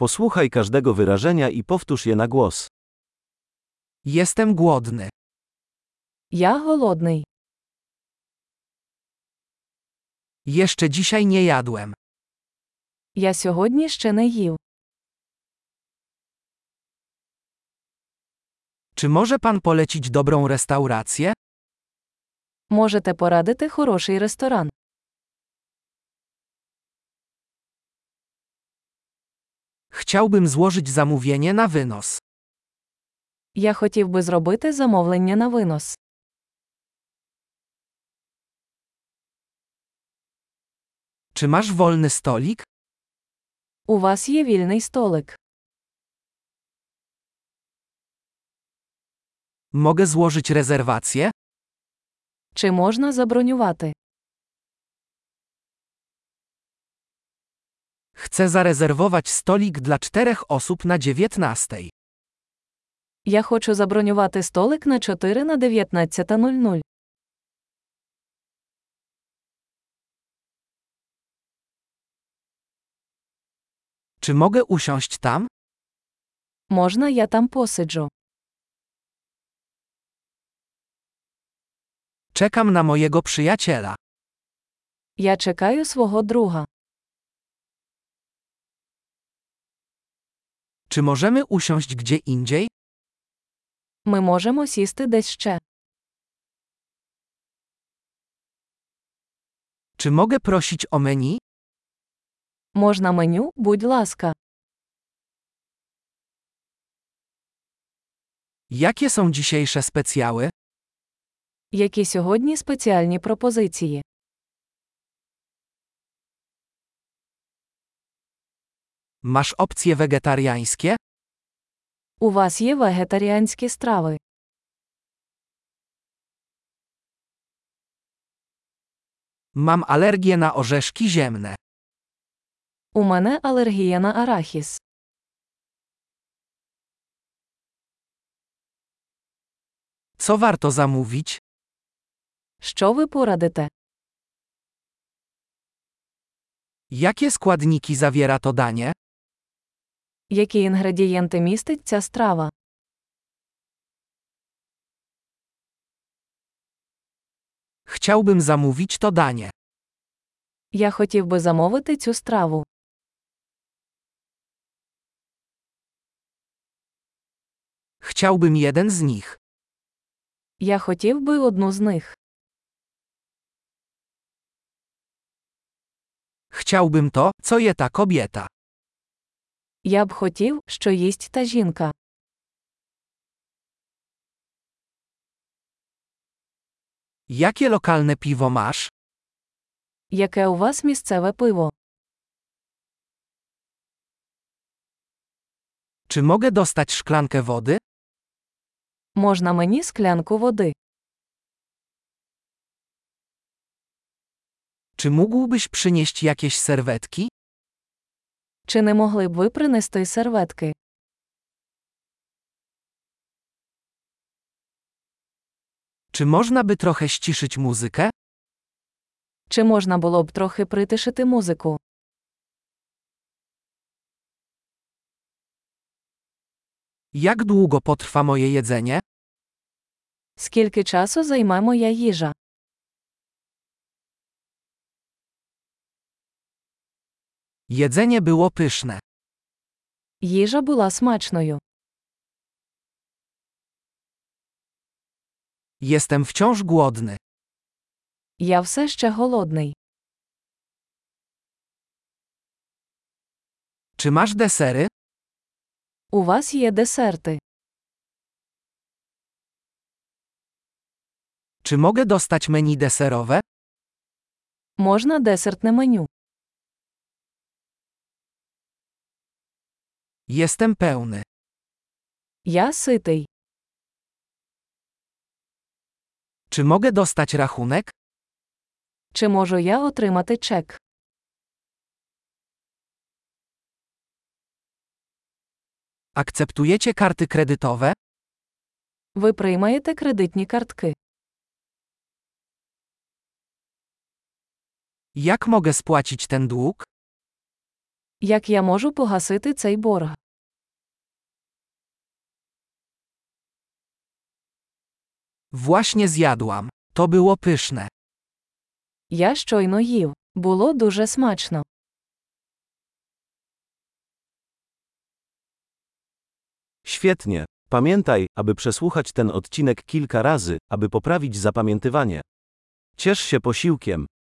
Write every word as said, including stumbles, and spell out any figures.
Posłuchaj każdego wyrażenia i powtórz je na głos. Jestem głodny. Я голодний. Jeszcze dzisiaj nie jadłem. Я сьогодні ще не їв. Czy może pan polecić dobrą restaurację? Можете порадити хороший ресторан? Chciałbym złożyć zamówienie na wynos. Я хотів би зробити замовлення на винос. Czy masz wolny stolik? У вас є вільний столик. Mogę złożyć rezerwację? Чи можна забронювати? Chcę zarezerwować stolik dla czterech osób na dziewiętnastej. Я хочу забронювати столик на чотири на дев'ятнадцята нуль нуль. Czy mogę usiąść tam? Можна я там посиджу? Czekam na mojego przyjaciela. Я чекаю свого друга. Czy możemy usiąść gdzie indziej? Ми можемо сісти десь ще. Czy mogę prosić o menu? Можна меню, будь ласка. Jakie są dzisiejsze specjały? Які сьогодні спеціальні пропозиції? Masz opcje wegetariańskie? У вас є вегетаріанські страви. Mam alergię na orzeszki ziemne. У мене алергія на арахіс. Co warto zamówić? Що ви порадите? Jakie składniki zawiera to danie? Які інгредієнти містить ця страва? Chciałbym zamówić to danie. Я хотів би замовити цю страву. Chciałbym jeden z nich. Я хотів би одну з них. Chciałbym to, co je ta kobieta. Я б хотів, що їсть та жінка. Jakie lokalne piwo masz? Яке у вас місцеве пиво? Czy mogę dostać szklankę wody? Можна мені склянку води? Czy mógłbyś przynieść jakieś serwetki? Чи не могли б ви принести серветки? Czy można by trochę ściszyć muzykę? Чи можна було б трохи притишити музику? Jak długo potrwa moje jedzenie? Скільки часу займе моя їжа? Jedzenie było pyszne. Їжа була смачною. Jestem wciąż głodny. Я все ще голодний. Czy masz desery? У вас є десерти. Czy mogę dostać menu deserowe? Можна десертне меню. Jestem pełny. Я ситий. Czy mogę dostać rachunek? Чи можу я отримати чек? Akceptujecie karty kredytowe? Ви приймаєте кредитні картки. Jak mogę spłacić ten dług? Як я можу погасити цей борг? Właśnie zjadłam. To było pyszne. Я щойно їв. Було дуже смачно. Świetnie. Pamiętaj, aby przesłuchać ten odcinek kilka razy, aby poprawić zapamiętywanie. Ciesz się posiłkiem.